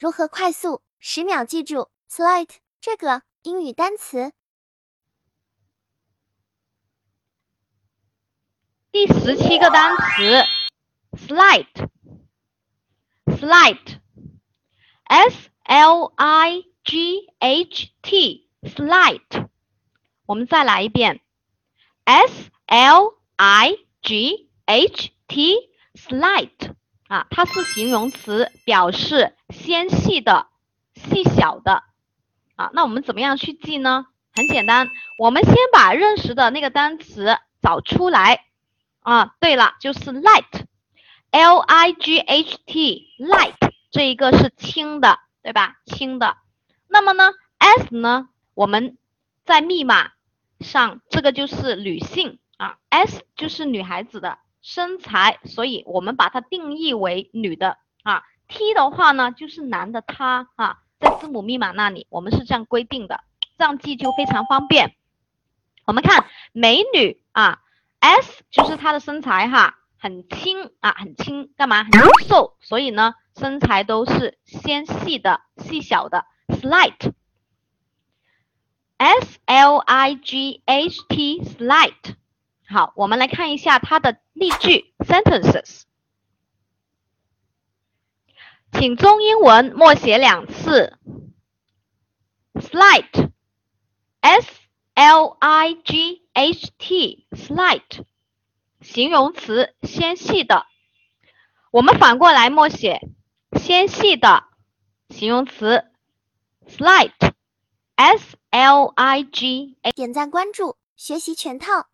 如何快速10秒记住 slight 这个英语单词？ 第17个单词 slight，slight，S-L-I-G-H-T slight， 我们再来一遍 S-L-I-G-H-T slight 啊，它是形容词，表示纤细的、细小的啊。那我们怎么样去记呢？很简单，我们先把认识的那个单词找出来啊。对了，就是 light，L-I-G-H-T light 这一个是轻的，对吧？轻的。那么呢 S 呢，我们在密码上这个就是女性啊 ，S 就是女孩子的身材，所以我们把它定义为女的啊。T 的话呢，就是男的他啊，在字母密码那里我们是这样规定的，这样记就非常方便。我们看美女啊 ，S 就是她的身材哈，很轻啊，很轻，干嘛？很清瘦，所以呢，身材都是纤细的、细小的 ，slight。S-L-I-G-H-T slight， 好，我们来看一下它的例句 sentences， 请中英文默写2次 slight S-L-I-G-H-T slight 形容词纤细的，我们反过来默写纤细的形容词 slight S-L-I-G。 点赞关注，学习全套。